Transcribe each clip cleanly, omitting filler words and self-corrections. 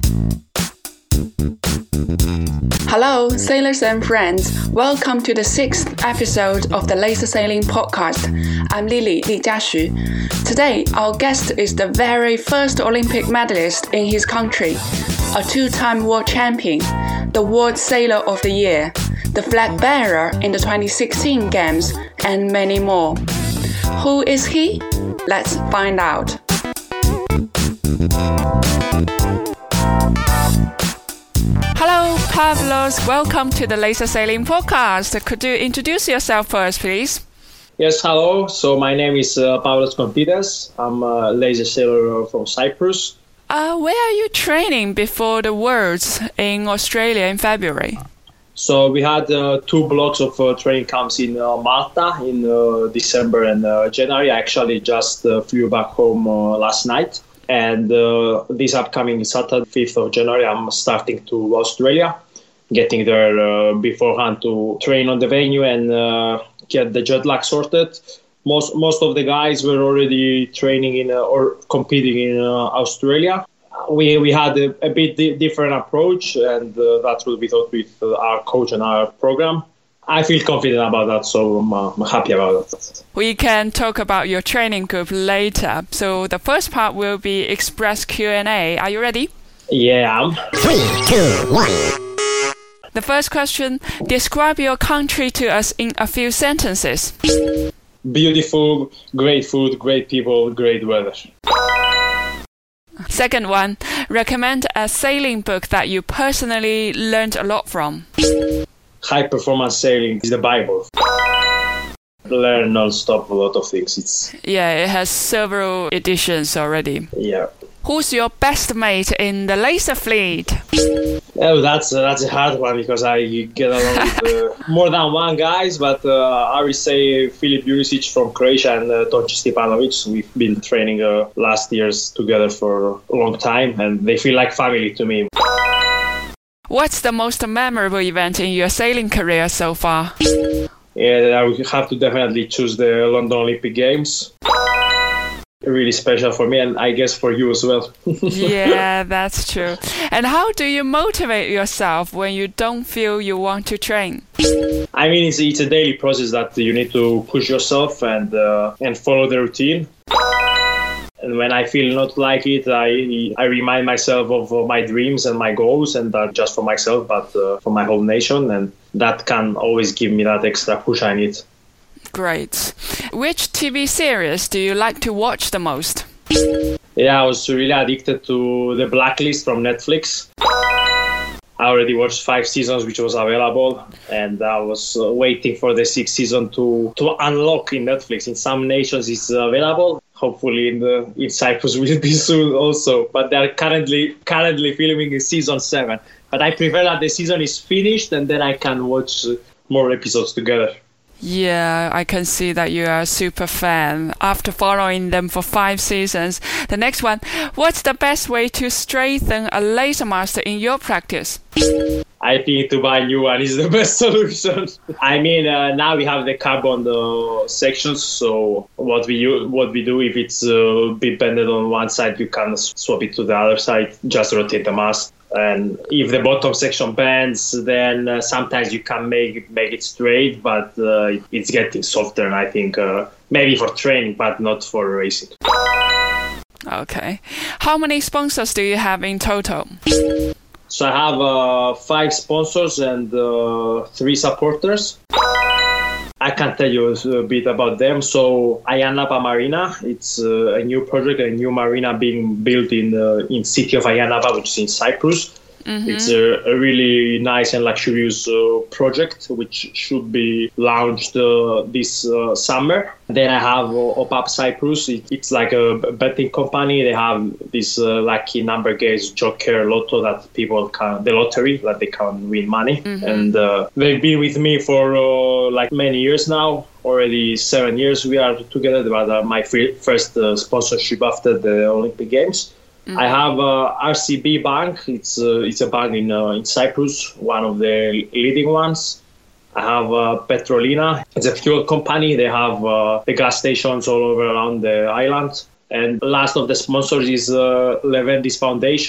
Hello, sailors and friends. Welcome to the 6th episode of the Laser Sailing Podcast. I'm Lily, Li Jiaxu. Today, our guest is the very first Olympic medalist in his country, a two-time world champion, the World Sailor of the Year, the flag bearer in the 2016 Games, and many more. Who is he? Let's find out. Hello, Pavlos. Welcome to the Laser Sailing Podcast. Could you introduce yourself first, please? Yes, hello. So my name is Pavlos Kontidas. I'm a laser sailor from Cyprus. Where are you training before the Worlds in Australia in February? So we had two blocks of training camps in Malta in December and January. I actually just flew back home last night. And this upcoming Saturday, 5th of January, I'm starting to Australia, getting there beforehand to train on the venue and get the jet lag sorted. Most of the guys were already training in or competing in Australia. We had a bit different approach, and that's what we thought with our coach and our program. I feel confident about that, so I'm happy about that. We can talk about your training group later. So the first part will be Express Q&A. Are you ready? Yeah. 3, 2, 1. The first question, describe your country to us in a few sentences. Beautiful, great food, great people, great weather. Second one, recommend a sailing book that you personally learned a lot from. High performance sailing is the Bible. Learn non-stop a lot of things. It has several editions already. Yeah. Who's your best mate in the laser fleet? Oh, that's a hard one because I get along with more than one guys, but I would say Filip Jurisic from Croatia and Tonči Stipanovic. We've been training last years together for a long time, and they feel like family to me. What's the most memorable event in your sailing career so far? Yeah, I would have to definitely choose the London Olympic Games. Really special for me, and I guess for you as well. Yeah, that's true. And how do you motivate yourself when you don't feel you want to train? I mean, it's a daily process that you need to push yourself and follow the routine. And when I feel not like it, I remind myself of my dreams and my goals, and not just for myself, but for my whole nation. And that can always give me that extra push I need. Great. Which TV series do you like to watch the most? Yeah, I was really addicted to The Blacklist from Netflix. I already watched 5 seasons, which was available, and I was waiting for the 6th season to unlock in Netflix. In some nations, it's available. Hopefully, in Cyprus will be soon also. But they're currently filming in season 7. But I prefer that the season is finished and then I can watch more episodes together. Yeah, I can see that you are a super fan after following them for 5 seasons. The next one, what's the best way to strengthen a laser master in your practice? I think to buy a new one is the best solution. I mean, now we have the carbon sections, so what we do, if it's a bit bended on one side, you can swap it to the other side, just rotate the mast. And if the bottom section bends, then sometimes you can make it straight, but it's getting softer, and I think maybe for training, but not for racing. Okay. How many sponsors do you have in total? So I have 5 sponsors and 3 supporters. I can tell you a bit about them. So Ayanapa Marina, it's a new project, a new marina being built in city of Ayanapa, which is in Cyprus. Mm-hmm. It's a really nice and luxurious project, which should be launched this summer. Then I have OPAP Cyprus. It's like a betting company. They have this lucky number games, Joker, Lotto, that people can, the lottery, that they can win money. Mm-hmm. And they've been with me for like many years now. Already 7 years we are together. But my first sponsorship after the Olympic Games. Mm-hmm. I have RCB Bank. It's a bank in Cyprus, one of the leading ones. I have Petrolina. It's a fuel company. They have the gas stations all over around the island. And last of the sponsors is Levendis Foundation.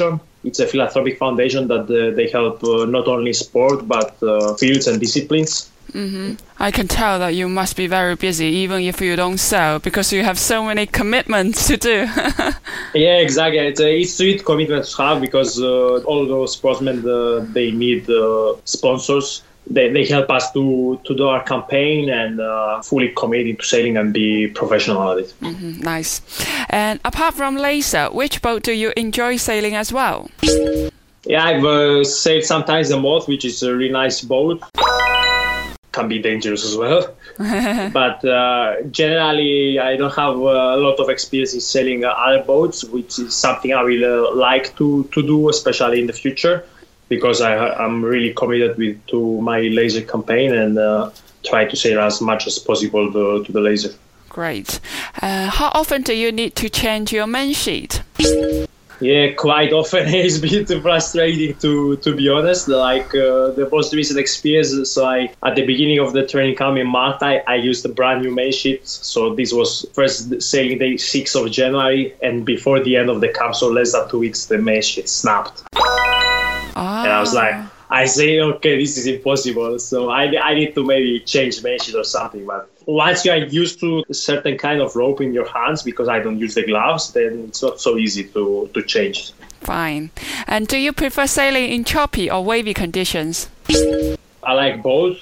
It's a philanthropic foundation that they help not only sport, but fields and disciplines. I can tell that you must be very busy, even if you don't sail, because you have so many commitments to do. Yeah, exactly. It's a sweet commitment to have because all those sportsmen, they need sponsors. They help us to do our campaign and fully commit into sailing and be professional at it. Nice. And apart from laser, which boat do you enjoy sailing as well? Yeah, I've sailed sometimes the Moth, which is a really nice boat. Can be dangerous as well. But generally, I don't have a lot of experience in sailing other boats, which is something I will like to do, especially in the future, because I'm really committed to my laser campaign and try to sail as much as possible to the laser. Great. How often do you need to change your main sheet? Yeah, quite often. It's been frustrating to be honest. Like the most recent experience, so at the beginning of the training camp in Malta, I used a brand new main sheet. So this was first sailing day 6th of January, and before the end of the camp, so less than 2 weeks, the main sheet snapped. And I was like, I say, okay, this is impossible. So I need to maybe change main sheet or something. But once you are used to a certain kind of rope in your hands, because I don't use the gloves, then it's not so easy to change. Fine. And do you prefer sailing in choppy or wavy conditions? I like both.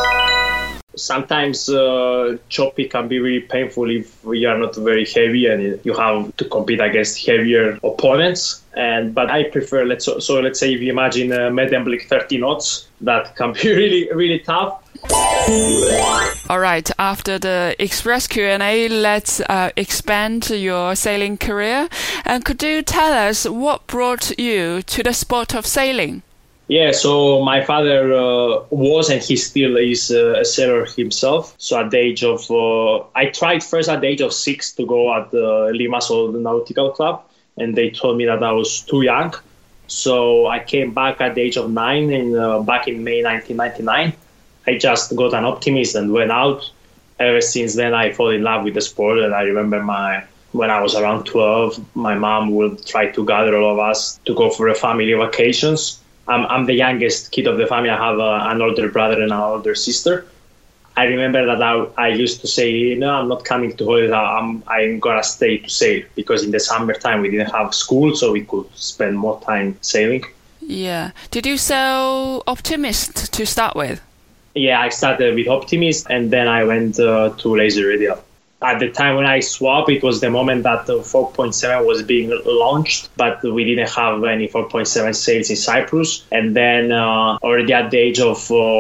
Sometimes choppy can be really painful if you are not very heavy and you have to compete against heavier opponents. But I prefer, let's say if you imagine a Medemblik 30 knots, that can be really, really tough. All right, after the express Q&A, let's expand your sailing career. And could you tell us what brought you to the sport of sailing? Yeah, so my father was and he still is a sailor himself. So at the age of, I tried first at the age of 6 to go at the Limassol Nautical Club, and they told me that I was too young. So I came back at the age of 9, and back in May 1999. I just got an Optimist and went out. Ever since then, I fell in love with the sport, and I remember when I was around 12, my mom would try to gather all of us to go for a family vacations. I'm the youngest kid of the family. I have an older brother and an older sister. I remember that I used to say, no, I'm not coming to holidays. I'm going to stay to sail, because in the summertime we didn't have school, so we could spend more time sailing. Yeah. Did you sail Optimist to start with? Yeah, I started with Optimist, and then I went to Laser Radial. At the time when I swapped, it was the moment that the 4.7 was being launched, but we didn't have any 4.7 sails in Cyprus. And then already at the age of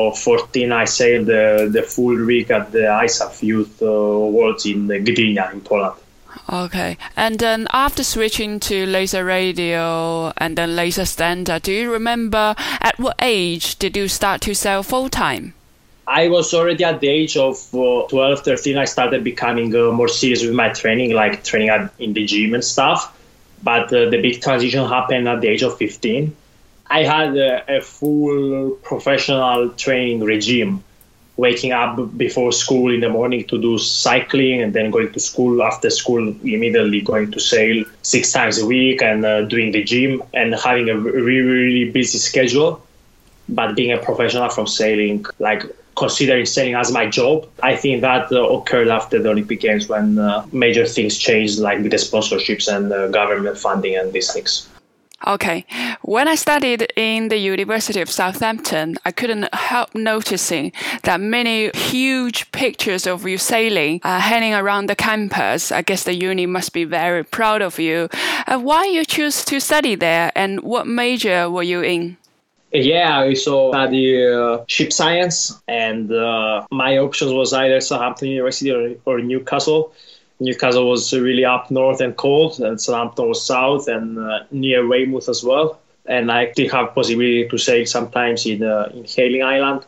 14, I sailed the full rig at the ISAF Youth Worlds in Gdynia in Poland. Okay. And then after switching to laser radial and then laser standard, do you remember at what age did you start to sail full-time? I was already at the age of 12, 13. I started becoming more serious with my training, like training in the gym and stuff. But the big transition happened at the age of 15. I had a full professional training regime, waking up before school in the morning to do cycling, and then going to school, after school immediately going to sail 6 times a week, and doing the gym, and having a really, really busy schedule. But being a professional from sailing, like considering sailing as my job, I think that occurred after the Olympic Games, when major things changed, like with the sponsorships and government funding and these things. Okay. When I studied in the University of Southampton, I couldn't help noticing that many huge pictures of you sailing hanging around the campus. I guess the uni must be very proud of you. Why you choose to study there, and what major were you in? Yeah, I study ship science, and my options was either Southampton University or Newcastle. Newcastle was really up north and cold, and Southampton was south and near Weymouth as well. And I did have possibility to sail sometimes in Hayling Island.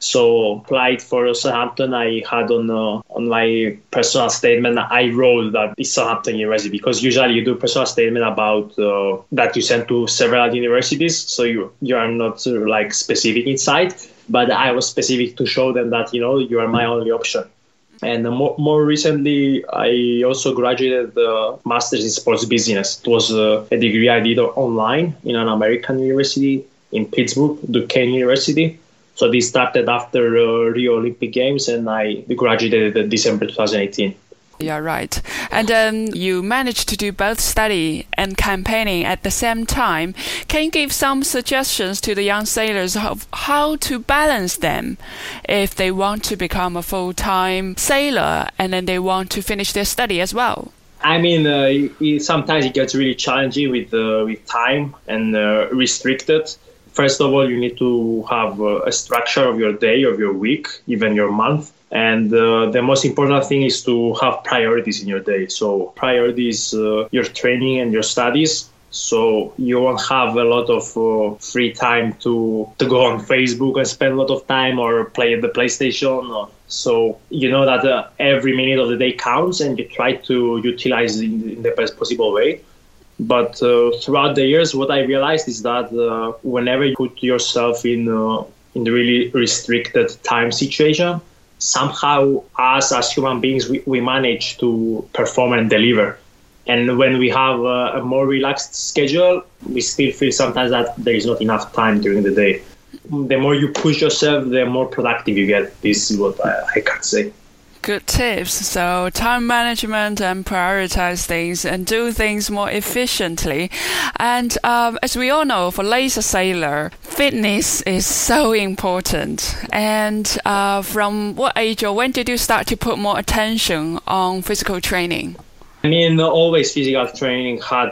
So applied for Southampton. I had on my personal statement, I wrote that it's Southampton University, because usually you do personal statement about that you send to several universities, so you are not like specific inside. But I was specific to show them that you are my only option. And more recently, I also graduated the Master's in Sports Business. It was a degree I did online in an American university in Pittsburgh, Duquesne University. So this started after Rio Olympic Games, and I graduated in December 2018. Yeah, right. And you managed to do both study and campaigning at the same time. Can you give some suggestions to the young sailors of how to balance them if they want to become a full-time sailor and then they want to finish their study as well? I mean, sometimes it gets really challenging with time and restricted. First of all, you need to have a structure of your day, of your week, even your month. And the most important thing is to have priorities in your day. So priorities, your training and your studies. So you won't have a lot of free time to go on Facebook and spend a lot of time or play at the PlayStation. So you know that every minute of the day counts, and you try to utilize it in the best possible way. But throughout the years, what I realized is that whenever you put yourself in the really restricted time situation, somehow us as human beings, we manage to perform and deliver. And when we have a more relaxed schedule, we still feel sometimes that there is not enough time during the day. The more you push yourself, the more productive you get. This is what I can say. Good tips. So time management and prioritize things and do things more efficiently. And as we all know, for laser sailor, fitness is so important. And from what age or when did you start to put more attention on physical training? I mean, always physical training had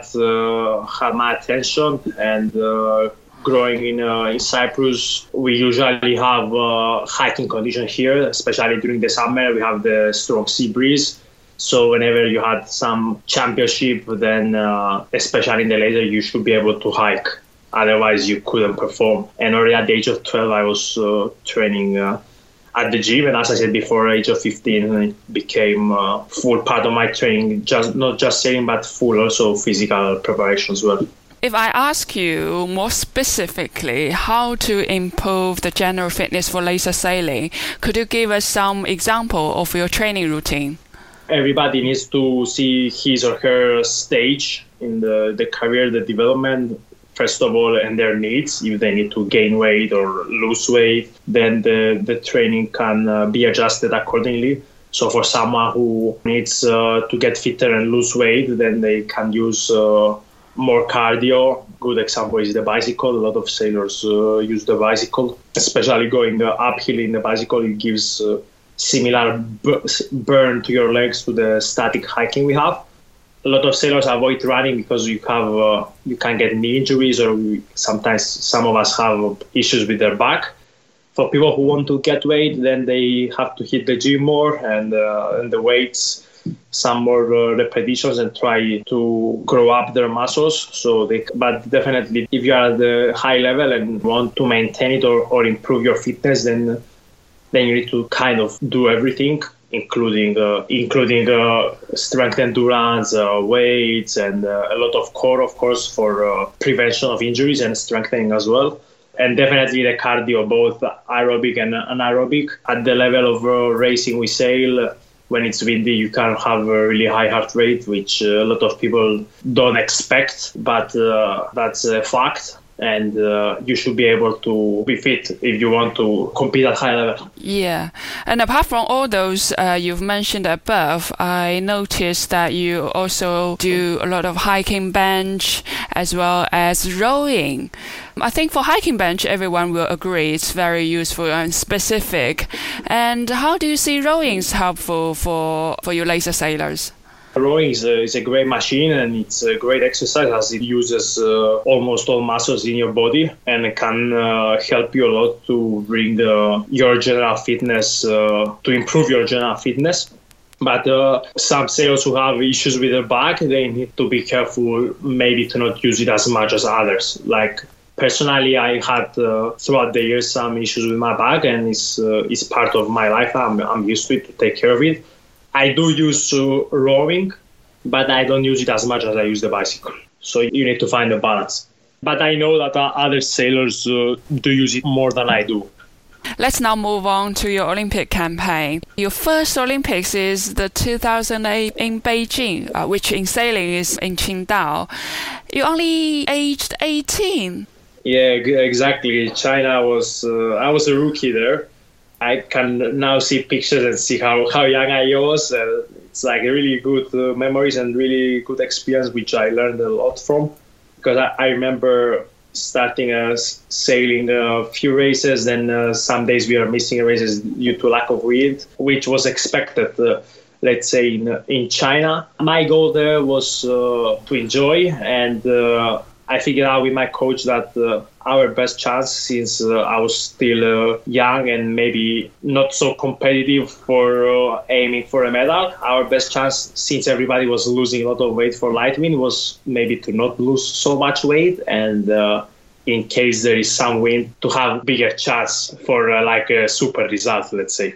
my attention, and growing in Cyprus, we usually have hiking conditions here, especially during the summer. We have the strong sea breeze. So whenever you had some championship, then especially in the laser, you should be able to hike. Otherwise, you couldn't perform. And already at the age of 12, I was training at the gym. And as I said before, age of 15, it became a full part of my training, not just sailing, but full also physical preparation as well. If I ask you more specifically how to improve the general fitness for laser sailing, could you give us some example of your training routine? Everybody needs to see his or her stage in the career, the development, first of all, and their needs. If they need to gain weight or lose weight, then the training can be adjusted accordingly. So for someone who needs to get fitter and lose weight, then they can use more cardio. Good example is the bicycle. A lot of sailors use the bicycle, especially going uphill in the bicycle. It gives similar burn to your legs to the static hiking we have. A lot of sailors avoid running because you can get knee injuries, or sometimes some of us have issues with their back. For people who want to get weight, then they have to hit the gym more and the weights, some more repetitions, and try to grow up their muscles. But definitely, if you are at the high level and want to maintain it or improve your fitness, then you need to kind of do everything, including strength endurance, weights, and a lot of core, of course, for prevention of injuries and strengthening as well. And definitely the cardio, both aerobic and anaerobic. At the level of racing we sail, when it's windy, you can have a really high heart rate, which a lot of people don't expect, but that's a fact. And you should be able to be fit if you want to compete at high level. Yeah. And apart from all those you've mentioned above, I noticed that you also do a lot of hiking bench as well as rowing. I think for hiking bench, everyone will agree it's very useful and specific. And how do you see rowing is helpful for you laser sailors? Rowing is a great machine, and it's a great exercise as it uses almost all muscles in your body, and it can help you a lot to bring your general fitness, to improve your general fitness. But some sailors who have issues with their back, they need to be careful maybe to not use it as much as others. Like personally, I had throughout the years some issues with my back, and it's part of my life. I'm used to it, to take care of it. I do use rowing, but I don't use it as much as I use the bicycle. So you need to find a balance. But I know that other sailors do use it more than I do. Let's now move on to your Olympic campaign. Your first Olympics is the 2008 in Beijing, which in sailing is in Qingdao. You're only aged 18. Yeah, exactly. China was, I was a rookie there. I can now see pictures and see how young I was. It's like really good memories and really good experience, which I learned a lot from. Because I remember starting sailing a few races, then some days we are missing races due to lack of wind, which was expected, let's say, in China. My goal there was to enjoy, and I figured out with my coach that our best chance, since I was still young and maybe not so competitive for aiming for a medal, our best chance, since everybody was losing a lot of weight for light wind, was maybe to not lose so much weight, and in case there is some wind, to have bigger chance for like a super result, let's say.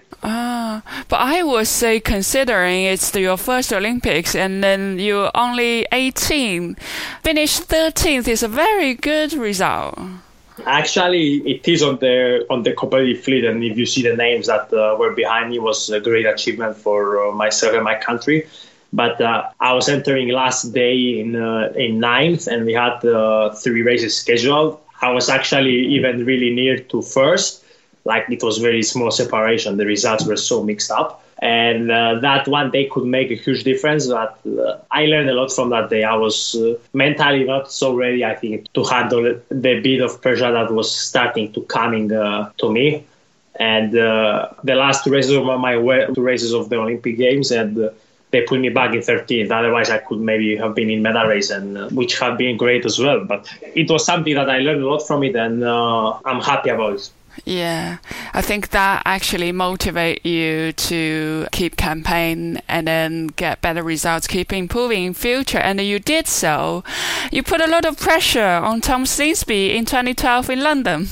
But I would say, considering it's your first Olympics and then you're only 18, finish 13th is a very good result. Actually, it is on the competitive fleet, and if you see the names that were behind me, was a great achievement for myself and my country. But I was entering last day in ninth, and we had 3 races scheduled. I was actually even really near to first. Like, it was very small separation. The results were so mixed up. And that one day could make a huge difference. But I learned a lot from that day. I was mentally not so ready, I think, to handle the bit of pressure that was starting to coming to me. And the last 2 races of my 2 races of the Olympic Games, and they put me back in 13th. Otherwise, I could maybe have been in medal race, and which have been great as well. But it was something that I learned a lot from it, and I'm happy about it. Yeah, I think that actually motivate you to keep campaign and then get better results, keep improving in future. And you did so. You put a lot of pressure on Tom Slingsby in 2012 in London.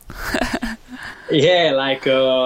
Yeah, like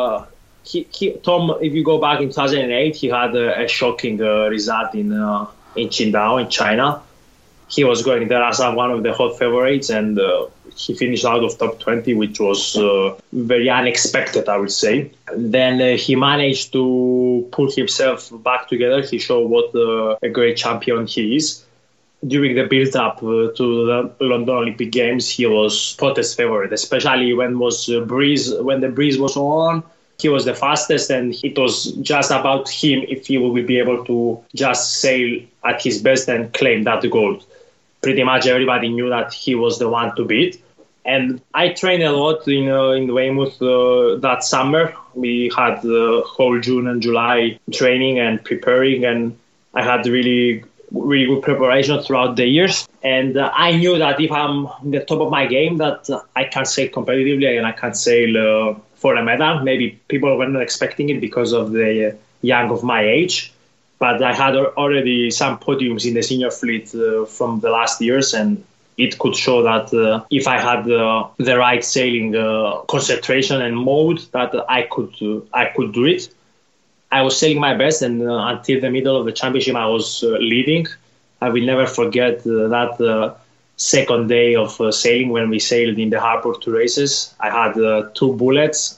Tom, if you go back in 2008, he had a shocking result in Qingdao in China. He was going there as one of the hot favorites, and he finished out of top 20, which was very unexpected, I would say. Then he managed to pull himself back together. He showed what a great champion he is. During the build-up to the London Olympic Games, he was hottest favorite, especially when the breeze was on. He was the fastest, and it was just about him if he will be able to just sail at his best and claim that gold. Pretty much everybody knew that he was the one to beat. And I trained a lot in Weymouth that summer. We had the whole June and July training and preparing, and I had really, really good preparation throughout the years. And I knew that if I'm in the top of my game, that I can sail competitively and I can sail for a medal. Maybe people were not expecting it because of the young of my age. But I had already some podiums in the senior fleet from the last years, and it could show that if I had the right sailing concentration and mode, that I could do it. I was sailing my best, and until the middle of the championship, I was leading. I will never forget that second day of sailing when we sailed in the harbor 2 races. I had 2 bullets.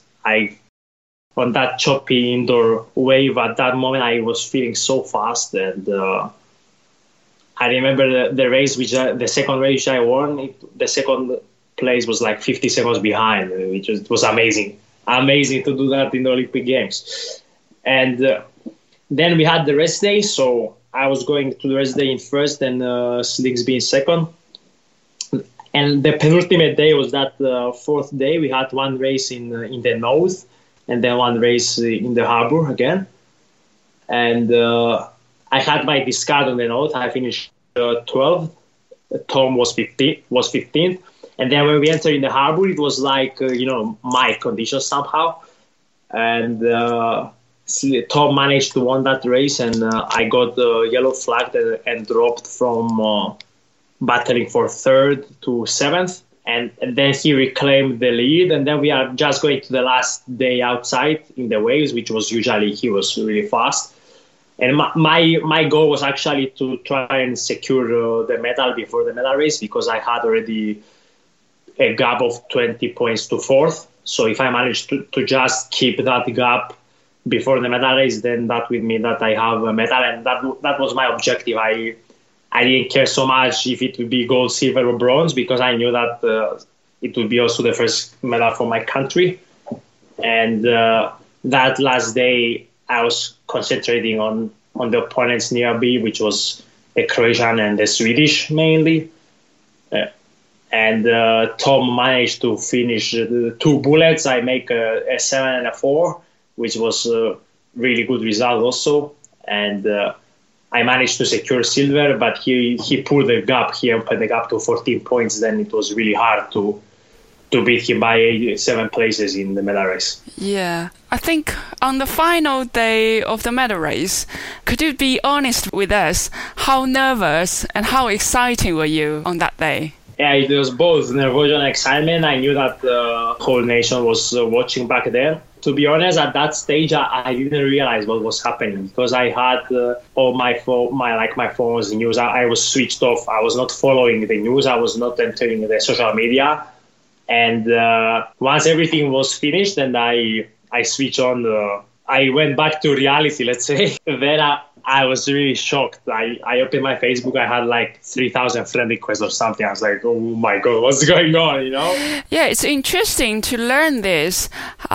On that choppy indoor wave, at that moment, I was feeling so fast. And I remember the race, the second race I won, the second place was like 50 seconds behind, which was amazing. Amazing to do that in the Olympic Games. And then we had the rest day. So I was going to the rest day in first and Slingsby in second. And the penultimate day was that 4th day. We had 1 race in the north, and then 1 race in the harbor again. And I had my discard on the north. I finished 12th. Tom was 15th. And then when we entered in the harbor, it was like, my conditions somehow. And Tom managed to win that race, and I got the yellow flag and dropped from battling for 3rd to 7th. And then he reclaimed the lead, and then we are just going to the last day outside in the waves, which was usually he was really fast. And my goal was actually to try and secure the medal before the medal race, because I had already a gap of 20 points to 4th. So if I manage to just keep that gap before the medal race, then that would mean that I have a medal, and that was my objective. I didn't care so much if it would be gold, silver, or bronze, because I knew that it would be also the first medal for my country. And that last day, I was concentrating on the opponents near me, which was the Croatian and the Swedish mainly. And Tom managed to finish 2 bullets. I make a 7 and a 4, which was a really good result also. And I managed to secure silver, but he pulled the gap. He opened the gap to 14 points. Then it was really hard to beat him by 7 places in the medal race. Yeah. I think on the final day of the medal race, could you be honest with us? How nervous and how exciting were you on that day? Yeah, it was both nervous and excitement. I knew that the whole nation was watching back then. To be honest, at that stage, I didn't realize what was happening because I had all my phone's news. I was switched off. I was not following the news. I was not entering the social media. And once everything was finished, and I switched on. I went back to reality, let's say. Then I was really shocked. I opened my Facebook. I had like 3,000 friend requests or something. I was like, oh my God, what's going on, Yeah, it's interesting to learn this.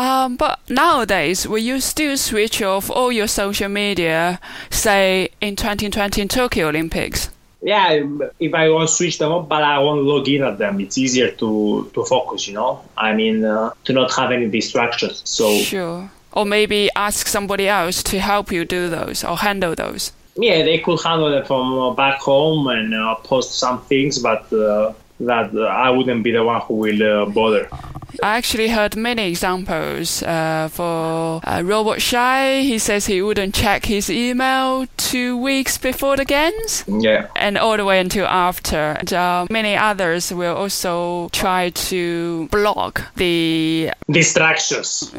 But nowadays, will you still switch off all your social media, say, in 2020 Tokyo Olympics? Yeah, if I won't switch them up, but I won't log in at them. It's easier to focus, I mean, to not have any distractions. So sure. Or maybe ask somebody else to help you do those or handle those. Yeah, they could handle it from back home and post some things, but that I wouldn't be the one who will bother. I actually heard many examples for Robert Shai. He says he wouldn't check his email 2 weeks before the games. Yeah. And all the way until after. And many others will also try to block the distractions.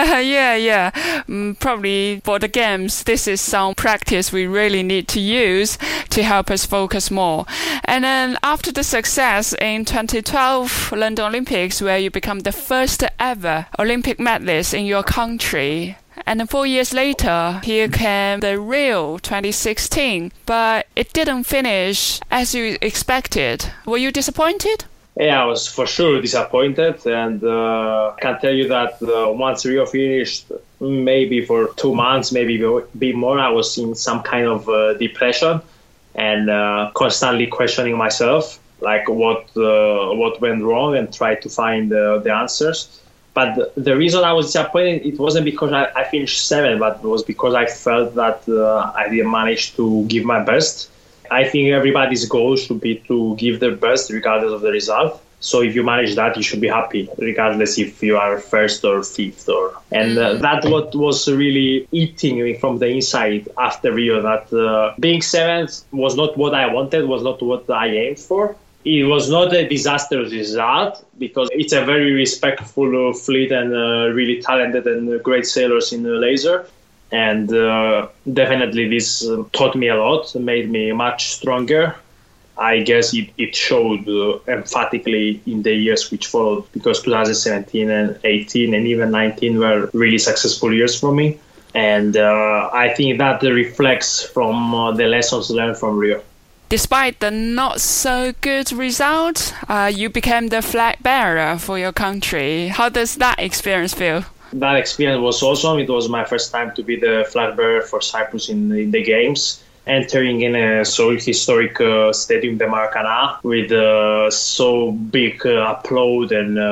Yeah. Probably for the games, this is some practice we really need to use to help us focus more. And then after the success in 2012 London Olympics, where you become the first ever Olympic medalist in your country. And then 4 years later, here came the Rio 2016, but it didn't finish as you expected. Were you disappointed? Yeah, I was for sure disappointed, and I can tell you that once Rio finished, maybe for 2 months, maybe a bit more, I was in some kind of depression and constantly questioning myself. Like what went wrong, and try to find the answers. But the reason I was disappointed, it wasn't because I finished 7th, but it was because I felt that I didn't manage to give my best. I think everybody's goal should be to give their best regardless of the result. So if you manage that, you should be happy, regardless if you are 1st or 5th. And that's what was really eating me from the inside after Rio, that being 7th was not what I wanted, was not what I aimed for. It was not a disastrous result because it's a very respectful fleet and really talented and great sailors in the laser. And definitely this taught me a lot, made me much stronger. I guess it showed emphatically in the years which followed, because 2017 and 18 and even 19 were really successful years for me. And I think that reflects from the lessons learned from Rio. Despite the not so good result, you became the flag bearer for your country. How does that experience feel? That experience was awesome. It was my first time to be the flag bearer for Cyprus in the games. Entering in a so historic Stadium de Maracana with so big applaud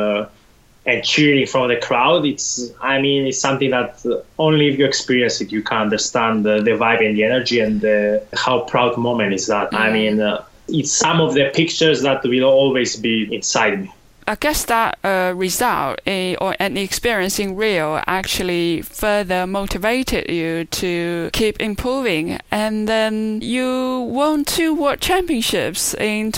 and cheering from the crowd. It's something that only if you experience it, you can understand the vibe and the energy and how proud moment is that. It's some of the pictures that will always be inside me. I guess that result or an experience in Rio actually further motivated you to keep improving. And then you won 2 World Championships in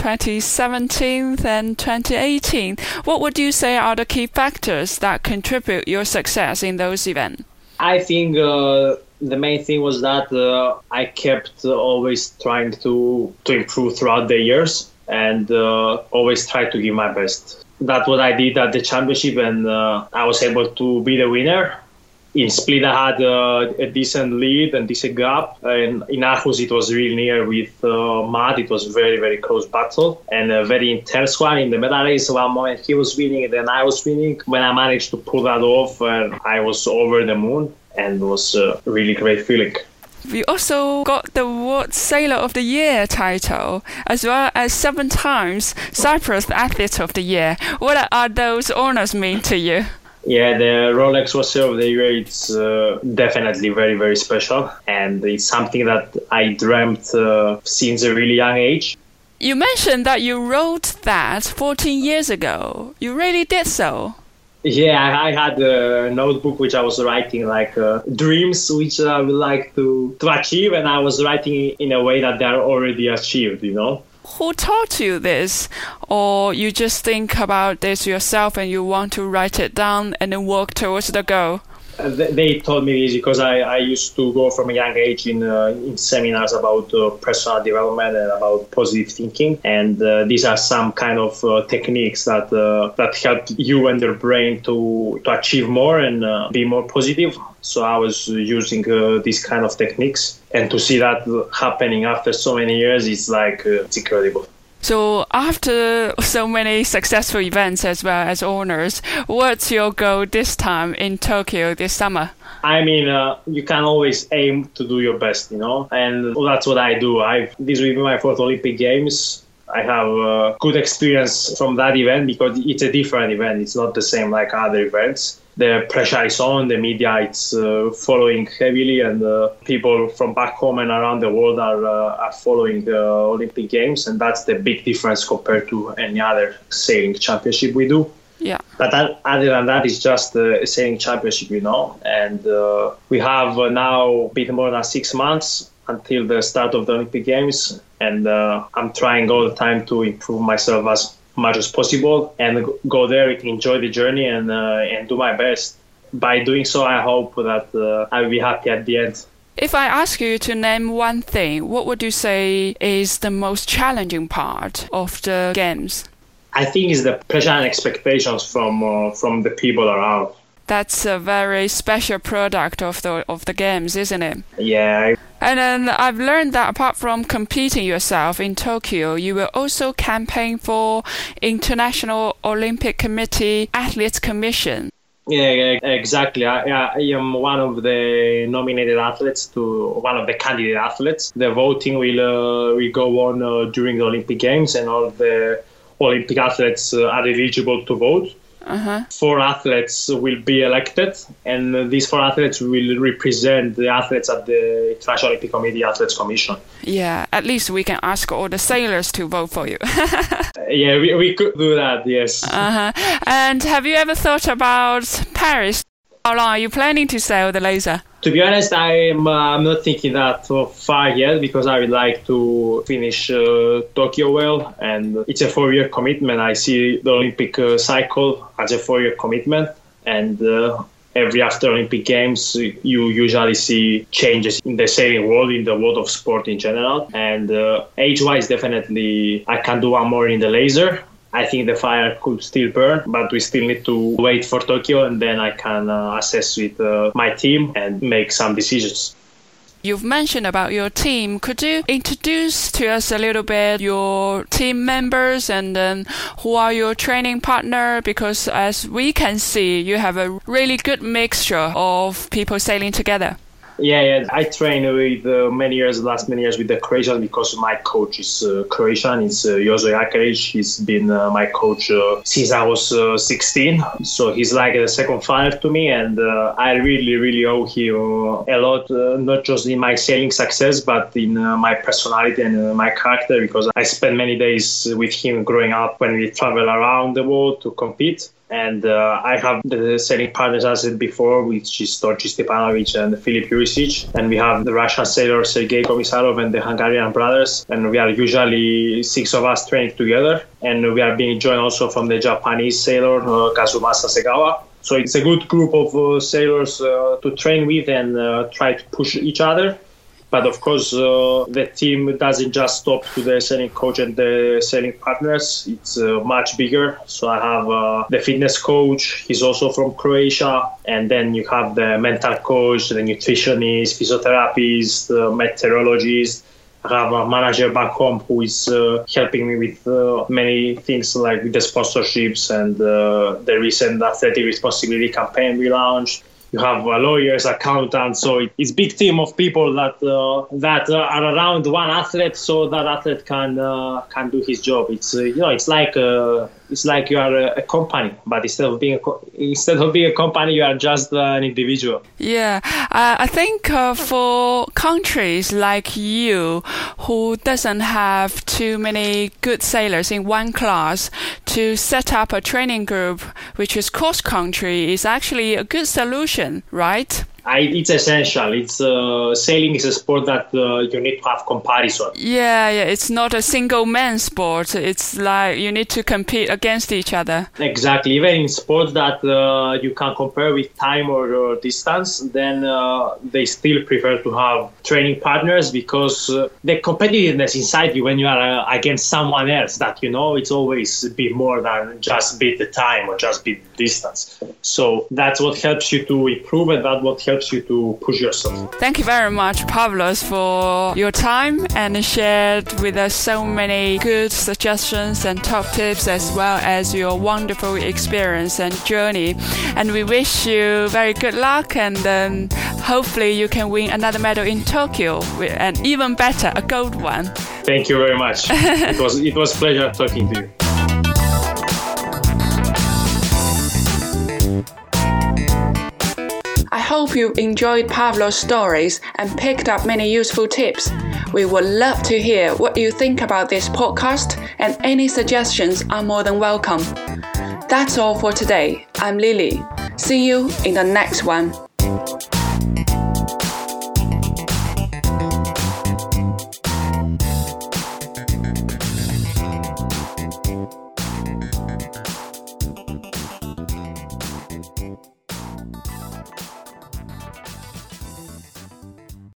2017 and 2018. What would you say are the key factors that contribute your success in those events? I think the main thing was that I kept always trying to improve throughout the years and always try to give my best. That's what I did at the championship, and I was able to be the winner. In Split, I had a decent lead and decent gap. And in Aarhus, it was really near with Matt. It was very, very close battle and a very intense one. In the medal race, one moment he was winning, and then I was winning. When I managed to pull that off, I was over the moon, and it was a really great feeling. You also got the World Sailor of the Year title, as well as 7 times Cyprus Athlete of the Year. What are those honors mean to you? Yeah, the Rolex World Sailor of the Year, it's definitely very, very special. And it's something that I dreamt since a really young age. You mentioned that you wrote that 14 years ago. You really did so? Yeah, I had a notebook which I was writing like dreams which I would like to achieve. And I was writing in a way that they are already achieved, you know. Who taught you this? Or you just think about this yourself and you want to write it down and then work towards the goal? They taught me this because I used to go from a young age in seminars about personal development and about positive thinking. And these are some kind of techniques that help you and your brain to achieve more and be more positive. So I was using these kind of techniques, and to see that happening after so many years is like it's incredible. So after so many successful events as well as honors, what's your goal this time in Tokyo this summer? I mean, you can always aim to do your best, you know, and that's what I do. This will be my 4th Olympic Games. I have good experience from that event because it's a different event. It's not the same like other events. The pressure is on, the media is following heavily, and people from back home and around the world are following the Olympic Games, and that's the big difference compared to any other sailing championship we do. Yeah. But other than that, it's just a sailing championship, you know, and we have now a bit more than 6 months until the start of the Olympic Games, and I'm trying all the time to improve myself as much as possible and go there, enjoy the journey, and do my best. By doing so, I hope that I will be happy at the end. If I ask you to name one thing, what would you say is the most challenging part of the games? I think it's the pressure and expectations from the people around. That's a very special product of the games, isn't it? Yeah. And then I've learned that apart from competing yourself in Tokyo, you will also campaign for International Olympic Committee Athletes Commission. Yeah, exactly. I am one of the nominated athletes one of the candidate athletes. The voting will go on during the Olympic Games, and all the Olympic athletes are eligible to vote. 4 athletes will be elected, and these 4 athletes will represent the athletes at the International Olympic Committee Athletes Commission. Yeah, at least we can ask all the sailors to vote for you. Yeah, we could do that, yes. And have you ever thought about Paris? How long are you planning to sail the laser? To be honest, I'm not thinking that far yet because I would like to finish Tokyo well, and it's a 4-year commitment. I see the Olympic cycle as a 4-year commitment, and every after Olympic Games, you usually see changes in the sailing world, in the world of sport in general. And age-wise, definitely, I can do one more in the laser. I think the fire could still burn, but we still need to wait for Tokyo, and then I can assess with my team and make some decisions. You've mentioned about your team. Could you introduce to us a little bit your team members and then who are your training partner? Because as we can see, you have a really good mixture of people sailing together. Yeah. I train with last many years with the Croatians because my coach is Croatian. It's Jozo Jakaric. He's been my coach since I was 16. So he's like a second father to me, and I really, really owe him a lot, not just in my sailing success, but in my personality and my character, because I spent many days with him growing up when we travel around the world to compete. And I have the sailing partners, as I said before, which is Torchi Stepanovic and Filip Jurisic. And we have the Russian sailor Sergei Komisarov and the Hungarian brothers. And we are usually 6 of us training together. And we are being joined also from the Japanese sailor Kazumasa Segawa. So it's a good group of sailors to train with and try to push each other. But of course, the team doesn't just stop to the sailing coach and the sailing partners. It's much bigger. So I have the fitness coach. He's also from Croatia. And then you have the mental coach, the nutritionist, physiotherapist, meteorologist. I have a manager back home who is helping me with many things like with the sponsorships and the recent athletic responsibility campaign we launched. You have lawyers, accountants, so it's a big team of people that are around one athlete, so that athlete can do his job. It's it's like you are a company, but instead of being a company, you are just an individual. Yeah, I think for countries like you, who doesn't have too many good sailors in one class, to set up a training group which is cross country is actually a good solution, right? It's essential. It's sailing is a sport that you need to have comparison. Yeah, it's not a single man sport. It's like you need to compete against each other. Exactly. Even in sports that you can compare with time or distance, then they still prefer to have training partners because the competitiveness inside you when you are against someone else that it's always be more than just beat the time or just beat the distance. So that's what helps you to improve, and that's what helps you to push yourself. Thank you very much, Pavlos, for your time and shared with us so many good suggestions and top tips, as well as your wonderful experience and journey. And we wish you very good luck, and hopefully you can win another medal in Tokyo, and even better, a gold one. Thank you very much. It was a pleasure talking to you. I hope you enjoyed Pavlos' stories and picked up many useful tips. We would love to hear what you think about this podcast, and any suggestions are more than welcome. That's all for today. I'm Lily. See you in the next one.